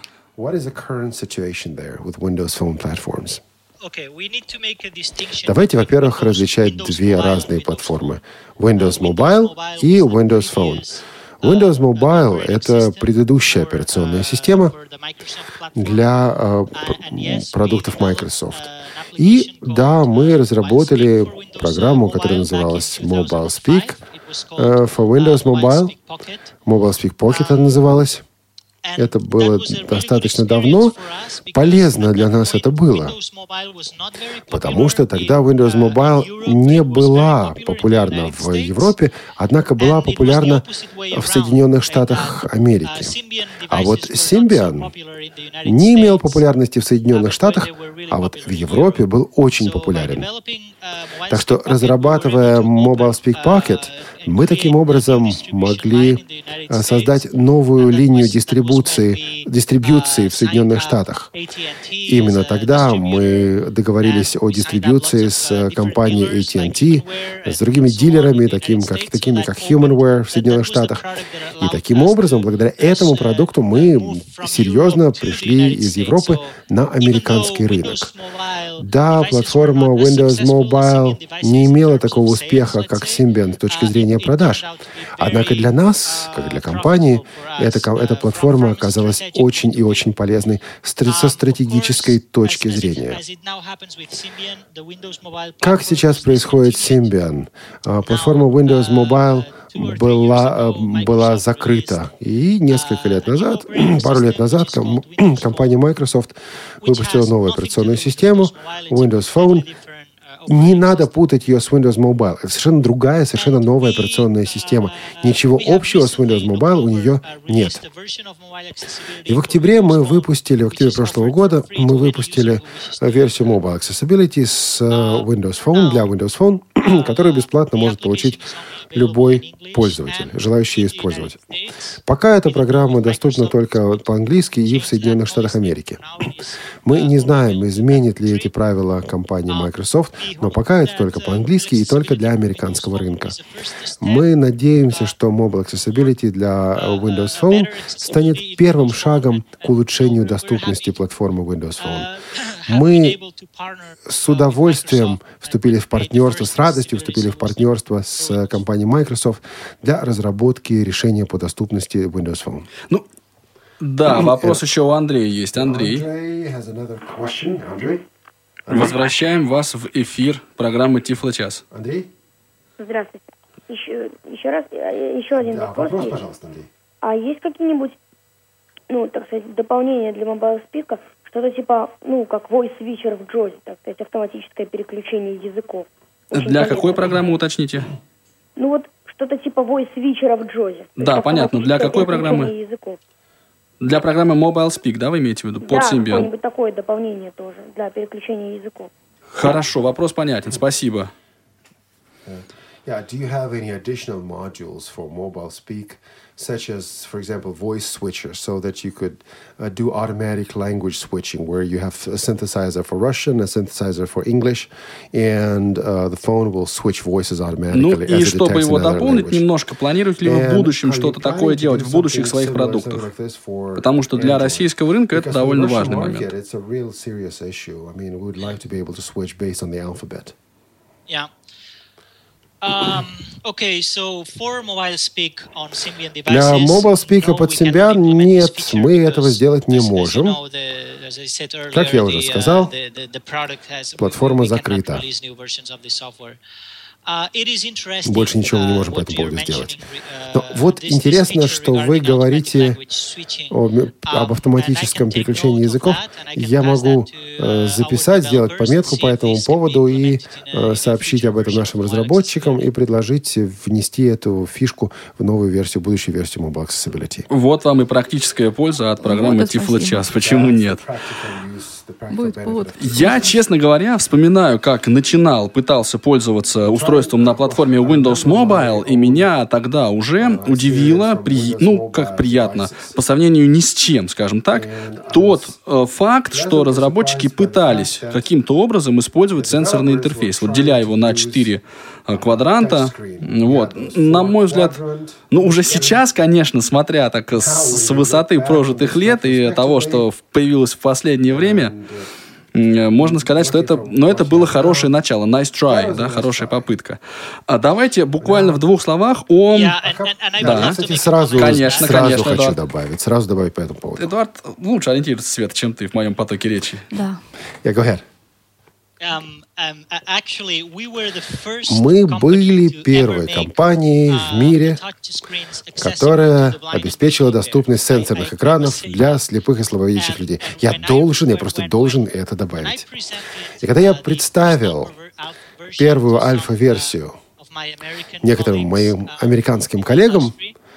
Давайте, во-первых, различать две разные платформы. Windows Mobile и Windows Phone. Windows Mobile — это предыдущая операционная система для продуктов Microsoft. И да, мы разработали программу, которая называлась Mobile Speak for Windows Mobile. Mobile Speak Pocket она называлась. Это было достаточно давно. Полезно для нас это было. Потому что тогда Windows Mobile не была популярна в Европе, однако была популярна в Соединенных Штатах Америки. А вот Symbian не имел популярности в Соединенных Штатах, а вот в Европе был очень популярен. Так что, разрабатывая Mobile Speak Pocket, мы таким образом могли создать новую линию дистрибьюции в Соединенных Штатах. Именно тогда мы договорились о дистрибьюции с компанией AT&T, с другими дилерами, такими как HumanWare в Соединенных Штатах. И таким образом, благодаря этому продукту, мы серьезно пришли из Европы на американский рынок. Да, платформа Windows Mobile не имела такого успеха, как Symbian с точки зрения продаж. Однако для нас, как для компании, эта платформа оказалась очень и очень полезной со стратегической точки зрения. Как сейчас происходит с Symbian? Платформа Windows Mobile была закрыта. И несколько лет назад, пару лет назад, компания Microsoft выпустила новую операционную систему Windows Phone. Не надо путать ее с Windows Mobile. Это совершенно другая, совершенно новая операционная система. Ничего общего с Windows Mobile у нее нет. И в октябре прошлого года, мы выпустили версию Mobile Accessibility с Windows Phone для Windows Phone, которую бесплатно может получить любой пользователь, желающий использовать. Пока эта программа доступна только по-английски и в Соединенных Штатах Америки. Мы не знаем, изменит ли эти правила компания Microsoft, но пока это только по-английски и только для американского рынка. Мы надеемся, что Mobile Accessibility для Windows Phone станет первым шагом к улучшению доступности платформы Windows Phone. Мы с удовольствием с радостью вступили в партнерство с компанией Microsoft для разработки решения по доступности Windows Phone. Да, вопрос еще у Андрея есть. Андрей. Возвращаем вас в эфир программы Тифло-час. Андрей? Здравствуйте. Еще один вопрос. Вопрос, пожалуйста, Андрей. А есть какие-нибудь, так сказать, дополнения для Mobile Speak? Что-то типа, как voice switcher в JAWS, так сказать, автоматическое переключение языков. Для какой программы, уточните? Что-то типа voice switcher в JAWS. Да, понятно. Для какой программы? Языков. Для программы Mobile Speak, да, вы имеете в виду? Под Да, Symbian. какое-нибудь такое дополнение тоже для переключения языков. Хорошо, вопрос понятен. Спасибо. Yeah, do you have any additional modules for Mobile Speak, such as, for example, voice switcher, so that you could do automatic language switching, where you have a synthesizer for Russian, a synthesizer for English, and the phone will switch voices automatically. Ну и чтобы его дополнить немножко, планируете ли вы в будущем что-то такое делать в будущих своих продуктах? Потому что для российского рынка это довольно важный момент. Yeah. Okay, so for Mobile Speak on Symbian devices, Для Mobile Speak под Symbian нет, мы этого сделать не можем. Как я уже сказал, платформа закрыта. Больше ничего мы не можем по этому поводу сделать. Но вот интересно, что вы говорите об автоматическом переключении языков. Я могу записать, сделать пометку по этому поводу и сообщить об этом нашим разработчикам и предложить внести эту фишку в новую версию, будущую версию Mobile Accessibility. Вот вам и практическая польза от программы Тифлочас. Почему нет? Будет повод. Я, честно говоря, вспоминаю, как начинал, пытался пользоваться устройством на платформе Windows Mobile, и меня тогда уже удивило, как приятно, по сравнению ни с чем, скажем так, тот факт, что разработчики пытались каким-то образом использовать сенсорный интерфейс, вот деля его на 4 квадранта. Вот. На мой взгляд, уже сейчас, конечно, смотря так с высоты прожитых лет и того, что появилось в последнее время, можно сказать, что это было хорошее начало. Nice try, да, хорошая попытка. А давайте буквально в 2 словах о... Да, кстати, сразу хочу добавить. Сразу добавить по этому поводу. Эдуард лучше ориентируется, Света, чем ты в моем потоке речи. Да. Я говорю. Мы были первой компанией в мире, которая обеспечила доступность сенсорных экранов для слепых и слабовидящих людей. Я просто должен это добавить. И когда я представил первую альфа-версию некоторым моим американским коллегам,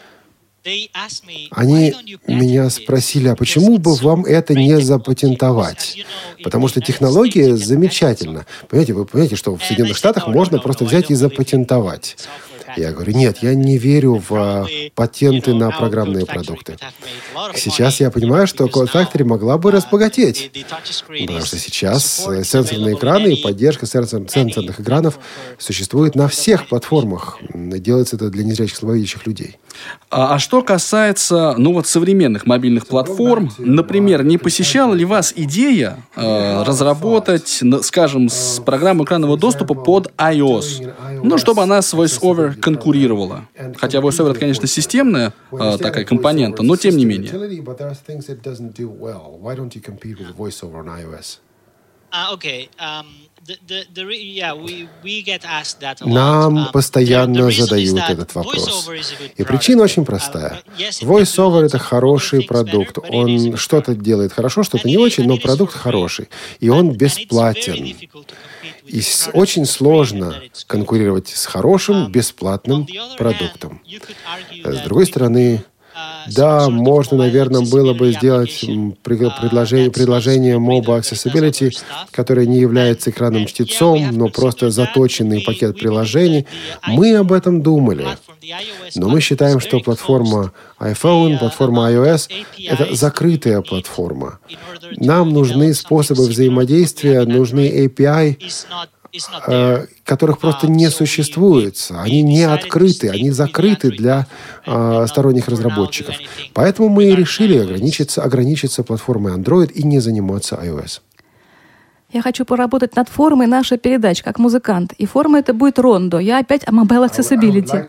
они меня спросили, а почему бы вам это не запатентовать? Потому что технология замечательна. Понимаете, вы понимаете, что в Соединенных Штатах можно просто взять и запатентовать. Я говорю, нет, я не верю в патенты на программные продукты. Сейчас я понимаю, что Code Factory могла бы разбогатеть. Потому что сейчас сенсорные экраны и поддержка сенсорных экранов существует на всех платформах. Делается это для незрячих слабовидящих людей. А что касается, современных мобильных платформ, например, не посещала ли вас идея разработать, скажем, с программу экранного доступа под iOS, чтобы она с VoiceOver конкурировала? Хотя VoiceOver это, конечно, системная такая компонента, но тем не менее. Нам постоянно задают этот вопрос. И причина очень простая. VoiceOver — это хороший продукт. Он что-то делает хорошо, что-то не очень, но продукт хороший. И он бесплатен. И очень сложно конкурировать с хорошим, бесплатным продуктом. С другой стороны, да, можно, наверное, было бы сделать предложение Mobile Accessibility, которое не является экранным-чтецом, но просто заточенный пакет приложений. Мы об этом думали. Но мы считаем, что платформа iPhone, платформа iOS — это закрытая платформа. Нам нужны способы взаимодействия, нужны API, которых просто не существует. Они не открыты, они закрыты для сторонних разработчиков. Поэтому мы и решили ограничиться платформой Android и не заниматься iOS. Я хочу поработать над формой нашей передачи, как музыкант. И форма это будет Рондо. Я опять о Mobile Accessibility.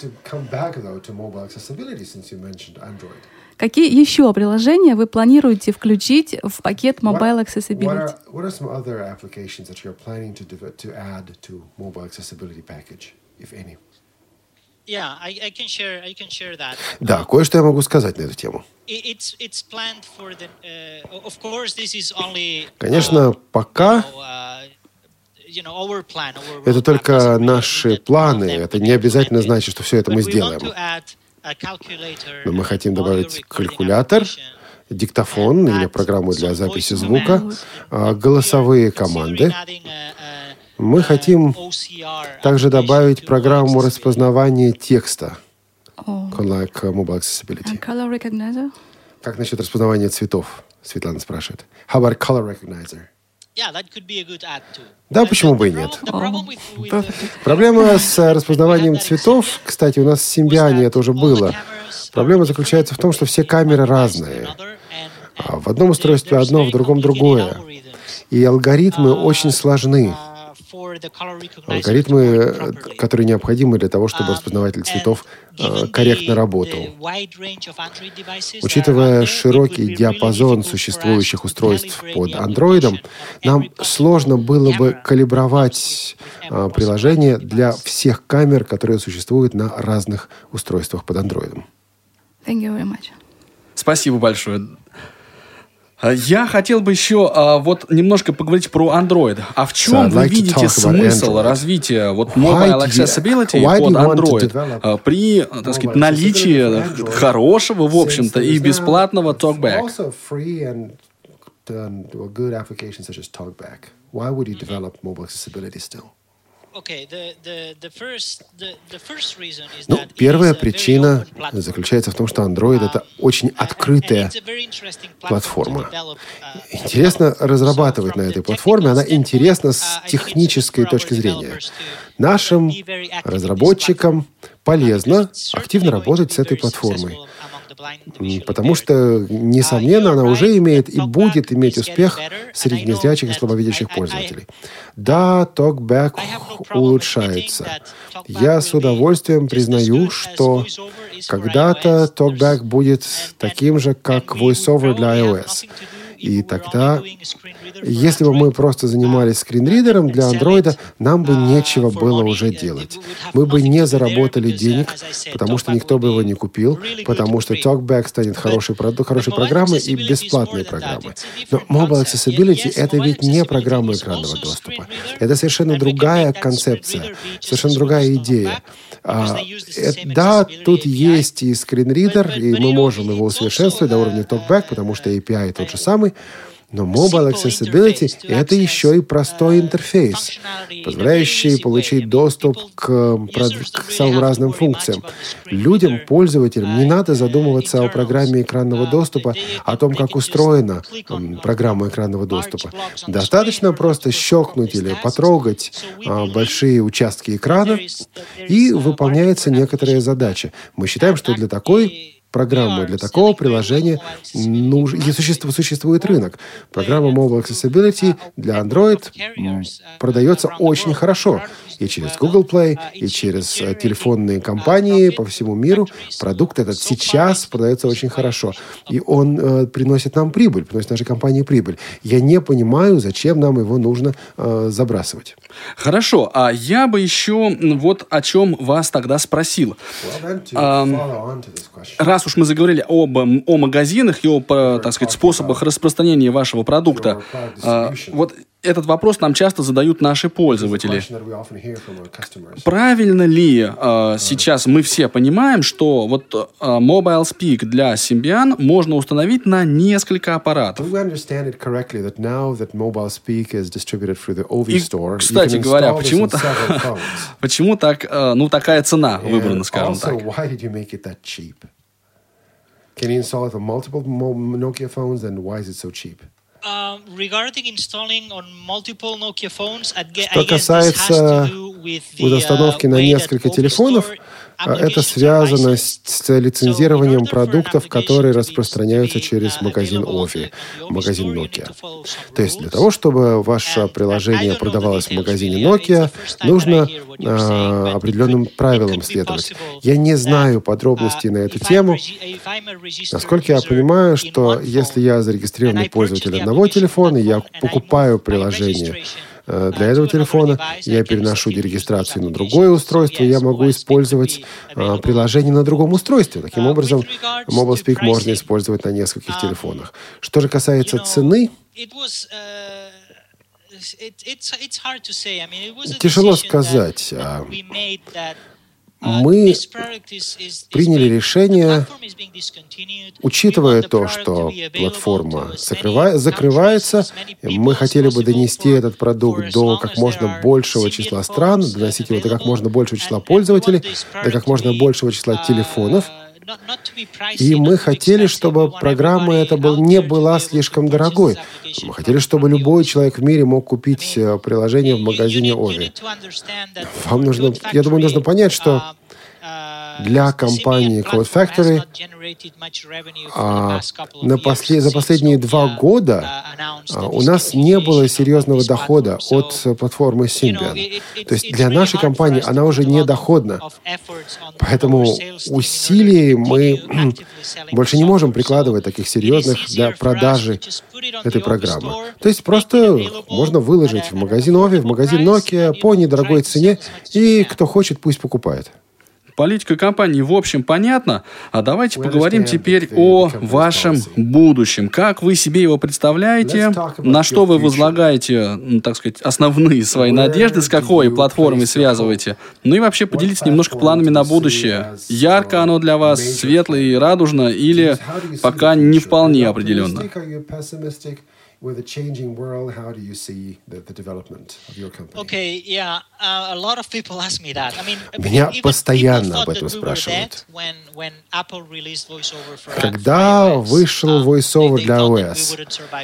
Какие еще приложения вы планируете включить в пакет Mobile Accessibility? What are some other applications that you're planning to add to Mobile Accessibility package, if any? Yeah, I can share that. Да, кое-что я могу сказать на эту тему. Конечно, пока это только наши планы. Это не обязательно значит, что все это мы сделаем. Но мы хотим добавить калькулятор диктофон или программу для записи звука, голосовые команды. Мы хотим также добавить программу распознавания текста, like Mobile Accessibility. Color recognizer? Как насчет распознавания цветов? Светлана спрашивает. How about color recognizer? Да, почему бы и нет? Проблема с распознаванием цветов, кстати, у нас в Симбиане это уже было. Проблема заключается в том, что все камеры разные. В одном устройстве одно, в другом другое. И алгоритмы очень сложны. Алгоритмы, которые необходимы для того, чтобы распознаватель цветов корректно работал. Учитывая широкий диапазон существующих устройств под Android, нам сложно было бы калибровать приложение для всех камер, которые существуют на разных устройствах под Android. Thank you very much. Спасибо большое. Я хотел бы еще вот немножко поговорить про Android. А в чем вы видите смысл развития вот Mobile Accessibility под Android при, так сказать, наличии хорошего, в общем-то, и бесплатного TalkBack? Первая причина заключается в том, что Android — это очень открытая платформа. Интересно разрабатывать на этой платформе, она интересна с технической точки зрения. Нашим разработчикам полезно активно работать с этой платформой. Потому что, несомненно, она уже имеет и будет иметь успех среди незрячих и слабовидящих пользователей. Да, TalkBack улучшается. Я с удовольствием признаю, что когда-то TalkBack будет таким же, как VoiceOver для iOS. И тогда, если бы мы просто занимались скринридером для Android, нам бы нечего было уже делать. Мы бы не заработали денег, потому что никто бы его не купил, потому что TalkBack станет хорошей программой и бесплатной программой. Но Mobile Accessibility — это ведь не программа экранного доступа. Это совершенно другая концепция, совершенно другая идея. Да, тут есть и скринридер, и мы можем его усовершенствовать до уровня TalkBack, потому что API тот же самый. Но Mobile Accessibility — это еще и простой интерфейс, позволяющий получить доступ к самым разным функциям. Людям, пользователям, не надо задумываться о программе экранного доступа, о том, как устроена программа экранного доступа. Достаточно просто щелкнуть или потрогать большие участки экрана, и выполняется некоторая задача. Мы считаем, что для такой программы, для такого приложения существует рынок. Программа Mobile Accessibility для Android продается очень хорошо. И через Google Play, и через телефонные компании по всему миру. Продукт этот сейчас продается очень хорошо. И он приносит нам прибыль, приносит нашей компании прибыль. Я не понимаю, зачем нам его нужно забрасывать. Хорошо. А я бы еще вот о чем вас тогда спросил. Раз уж мы заговорили о магазинах и о, так сказать, способах распространения вашего продукта, вот этот вопрос нам часто задают наши пользователи. Правильно ли сейчас мы все понимаем, что вот Mobile Speak для Symbian можно установить на несколько аппаратов? И, кстати говоря, почему так, такая цена выбрана, скажем так? Can you install it for multiple Nokia phones, and why is it so cheap? Что касается установки на несколько телефонов, это связано с лицензированием продуктов, которые распространяются через магазин Ovi, магазин Nokia. То есть для того, чтобы ваше приложение продавалось в магазине Nokia, нужно определенным правилам следовать. Я не знаю подробностей на эту тему. Насколько я понимаю, что если я зарегистрированный пользователь одного телефона, я покупаю приложение для этого телефона, я переношу регистрацию на другое устройство, я могу использовать приложение на другом устройстве. Таким образом, Mobile Speak можно использовать на нескольких телефонах. Что же касается цены, тяжело сказать. мы приняли решение, учитывая то, что платформа закрывается, мы хотели бы донести этот продукт до как можно большего числа стран, доносить его до как можно большего числа пользователей, до как можно большего числа телефонов. И мы хотели, чтобы программа эта не была слишком дорогой. Мы хотели, чтобы любой человек в мире мог купить приложение в магазине Ovi. Я думаю, нужно понять, что для компании Code Factory за последние 2 года у нас не было серьезного дохода от платформы Symbian. То есть для нашей компании она уже не доходна. Поэтому усилий мы больше не можем прикладывать таких серьезных для продажи этой программы. То есть просто можно выложить в магазин Ovi, в магазин Nokia по недорогой цене, и кто хочет, пусть покупает. Политика компании в общем понятна, а давайте поговорим теперь о вашем будущем. Как вы себе его представляете, на что вы возлагаете, так сказать, основные свои надежды, с какой платформой связываете, ну и вообще поделитесь немножко планами на будущее. Ярко оно для вас, светло и радужно, или пока не вполне определенно? With the changing world, how do you see the development of your company? Okay, yeah, a lot of people ask me that. I mean, Меня постоянно об этом спрашивают. Когда вышел VoiceOver для iOS,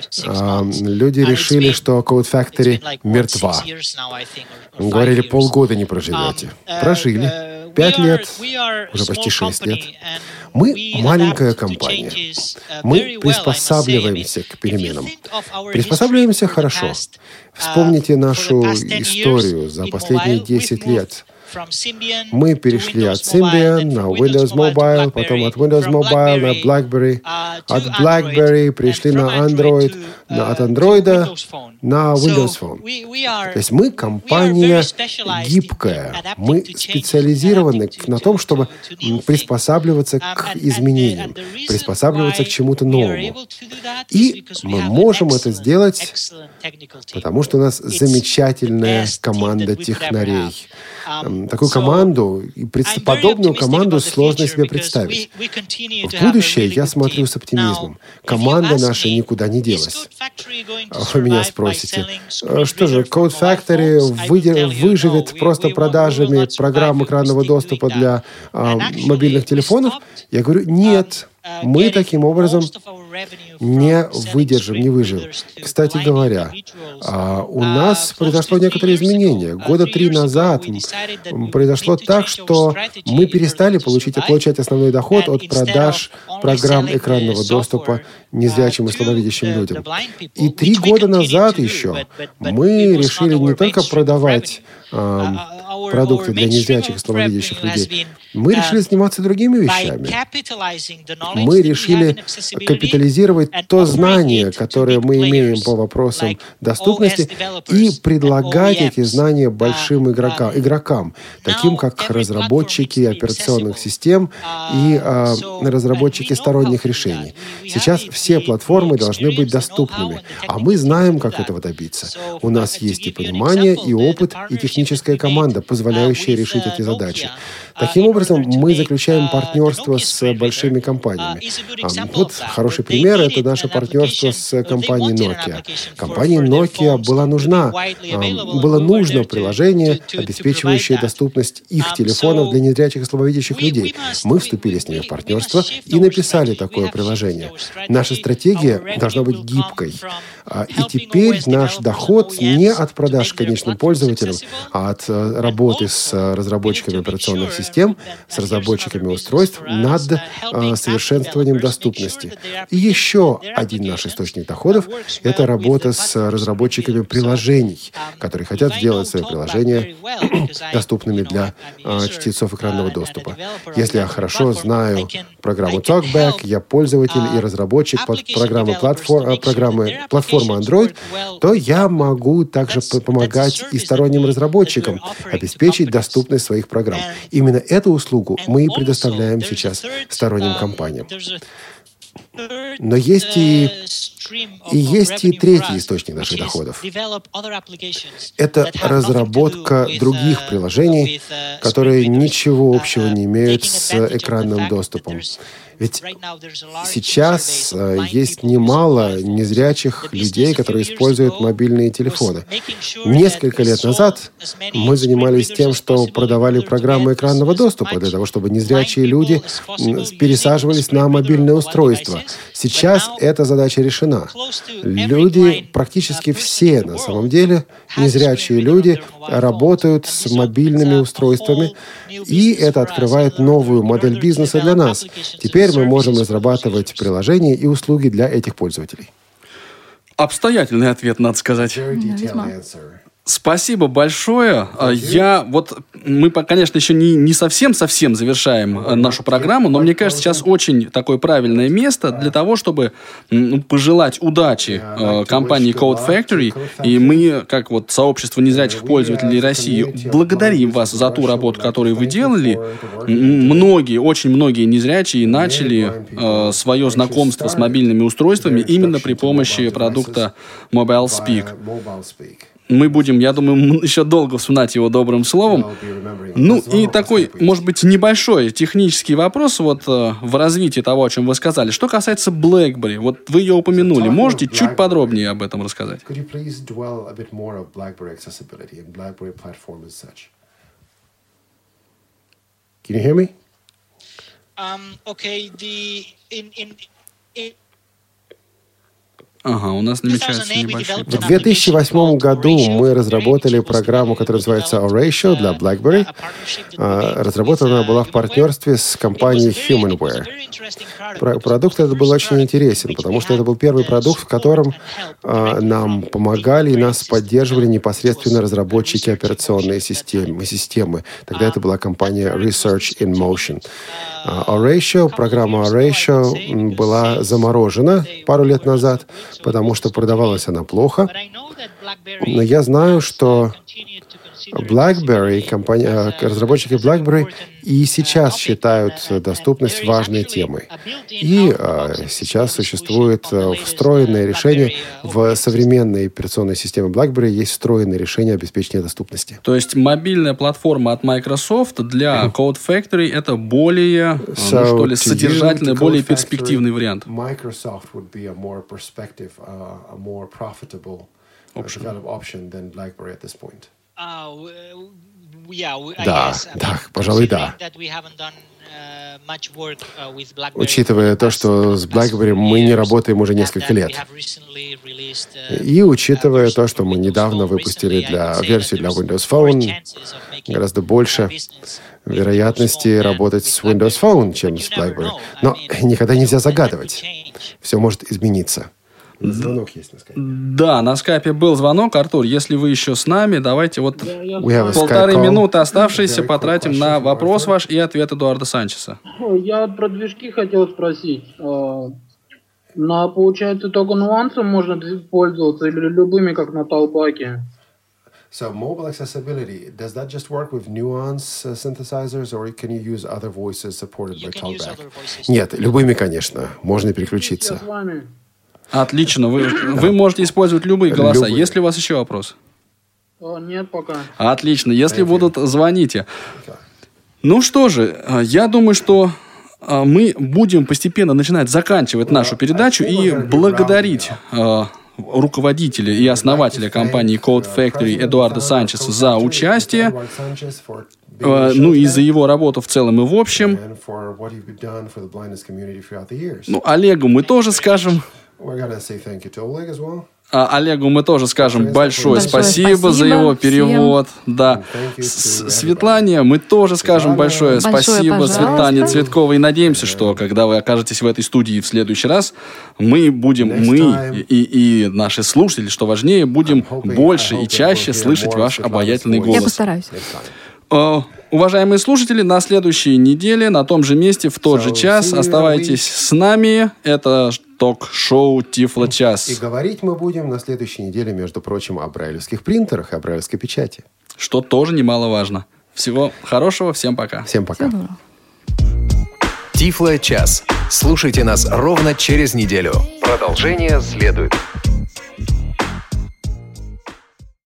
люди решили, что Code Factory мертва. Говорили, полгода не проживете. Прожили. 5 лет, уже почти 6 лет. Мы маленькая компания. Мы приспосабливаемся к переменам. Приспосабливаемся хорошо. Вспомните нашу историю за последние 10 лет. Мы перешли от Symbian на Windows Mobile, потом от Windows Mobile на BlackBerry. От BlackBerry пришли на Android, от Android на Windows Phone. То есть мы компания гибкая. Мы специализированы на том, чтобы приспосабливаться к изменениям, приспосабливаться к чему-то новому. И мы можем это сделать, потому что у нас замечательная команда технарей. Такую команду, подобную команду сложно себе представить. В будущее я смотрю с оптимизмом. Команда наша никуда не делась. Вы меня спросите, что же, Code Factory выживет просто продажами программ экранного доступа для мобильных телефонов? Я говорю, нет. Мы таким образом не выдержим, не выживем. Кстати говоря, у нас произошло некоторое изменение. 3 года назад произошло так, что мы перестали получать основной доход от продаж программ экранного доступа незрячим и слабовидящим людям. И 3 года назад еще мы решили не только продавать продукты для незрячих и слабовидящих людей. Мы решили заниматься другими вещами. Мы решили капитализировать то знание, которое мы имеем по вопросам доступности, и предлагать эти знания большим игрокам, таким как разработчики операционных систем и разработчики сторонних решений. Сейчас все платформы должны быть доступными, а мы знаем, как этого добиться. У нас есть и понимание, и опыт, и техническая команда, позволяющая решить эти задачи. Таким образом, мы заключаем партнерство с большими компаниями. Вот хороший пример – это наше партнерство с компанией Nokia. Компании Nokia было нужно приложение, обеспечивающее доступность их телефонов для незрячих и слабовидящих людей. Мы вступили с ними в партнерство и написали такое приложение. Наша стратегия должна быть гибкой. И теперь наш доход не от продаж конечным пользователям, а от работы с разработчиками операционных систем, с разработчиками устройств над совершенствованием доступности. И еще один наш источник доходов – это работа с разработчиками приложений, которые хотят сделать свои приложения доступными для чтецов экранного доступа. Если я хорошо знаю программу TalkBack, я пользователь и разработчик программы платформы Android, то я могу также помогать и сторонним разработчикам обеспечить доступность своих программ. Именно эту услугу мы и предоставляем сейчас сторонним компаниям. Но есть и третий источник наших доходов. Это разработка других приложений, которые ничего общего не имеют с экранным доступом. Ведь сейчас есть немало незрячих людей, которые используют мобильные телефоны. Несколько лет назад мы занимались тем, что продавали программы экранного доступа для того, чтобы незрячие люди пересаживались на мобильное устройство. Сейчас эта задача решена. Люди, практически все на самом деле, незрячие люди, работают с мобильными устройствами, и это открывает новую модель бизнеса для нас. Теперь мы можем разрабатывать приложения и услуги для этих пользователей. Обстоятельный ответ, надо сказать. Спасибо большое. Мы, конечно, еще не совсем завершаем нашу программу, но мне кажется, сейчас очень такое правильное место для того, чтобы пожелать удачи компании Code Factory. И мы, как сообщество незрячих пользователей России, благодарим вас за ту работу, которую вы делали. Очень многие незрячие начали свое знакомство с мобильными устройствами именно при помощи продукта Mobile Speak. Мы будем, я думаю, еще долго вспоминать его добрым словом. И такой, может быть, небольшой технический вопрос в развитии того, о чем вы сказали. Что касается BlackBerry, вы ее упомянули. Можете чуть подробнее об этом рассказать? Can you hear me? У нас намечается небольшой... В 2008 году мы разработали программу, которая называется Oratio для BlackBerry. Разработана она была в партнерстве с компанией Humanware. Продукт этот был очень интересен, потому что это был первый продукт, в котором нам помогали и нас поддерживали непосредственно разработчики операционной системы. Тогда это была компания Research in Motion. Программа Oratio была заморожена пару лет назад, потому что продавалась она плохо. Но я знаю, что BlackBerry, разработчики BlackBerry и сейчас считают доступность важной темой. И сейчас существует встроенное решение в современной операционной системе BlackBerry, есть встроенное решение обеспечения доступности. То есть мобильная платформа от Microsoft для Code Factory это более содержательный, более перспективный вариант. Microsoft would be a more perspective, a more profitable option than BlackBerry at this point. Да, пожалуй, да. Учитывая то, что с BlackBerry мы не работаем уже несколько лет. И учитывая то, что мы недавно выпустили версию для Windows Phone, гораздо больше вероятности работать с Windows Phone, чем с BlackBerry. Но никогда нельзя загадывать. Все может измениться. Звонок есть на скайпе. Да, на скайпе был звонок. Артур, если вы еще с нами, давайте полторы минуты оставшиеся потратим на вопрос ваш и ответ Эдуарда Санчеса. Я про движки хотел спросить. Получается, только нюансом можно пользоваться или любыми, как на Talkback? So mobile accessibility, does that just work with nuance synthesizers, or can you use other voices supported by Talkback? Нет, любыми, конечно. Можно переключиться. Отлично. Вы можете использовать любые голоса. Есть ли у вас еще вопрос? Нет, пока. Отлично. Если будут, звоните. Ну что же, я думаю, что мы будем постепенно начинать заканчивать нашу передачу и благодарить руководителя и основателя компании Code Factory Эдуарда Санчеса за участие, и за его работу в целом и в общем. Олегу мы тоже скажем... Олегу мы тоже скажем большое спасибо за его перевод. Да. Светлане мы тоже скажем большое спасибо, Светлане Цветковой. И надеемся, что когда вы окажетесь в этой студии в следующий раз, мы и наши слушатели, что важнее, будем больше и чаще слышать ваш обаятельный голос. Я постараюсь. Уважаемые слушатели, на следующей неделе на том же месте в тот же час оставайтесь с нами. Это ток-шоу Тифло-час. И говорить мы будем на следующей неделе, между прочим, о брайлевских принтерах и о брайлевской печати. Что тоже немаловажно. Всего хорошего, всем пока. Всем пока. Тифло-час. Слушайте нас ровно через неделю. Продолжение следует.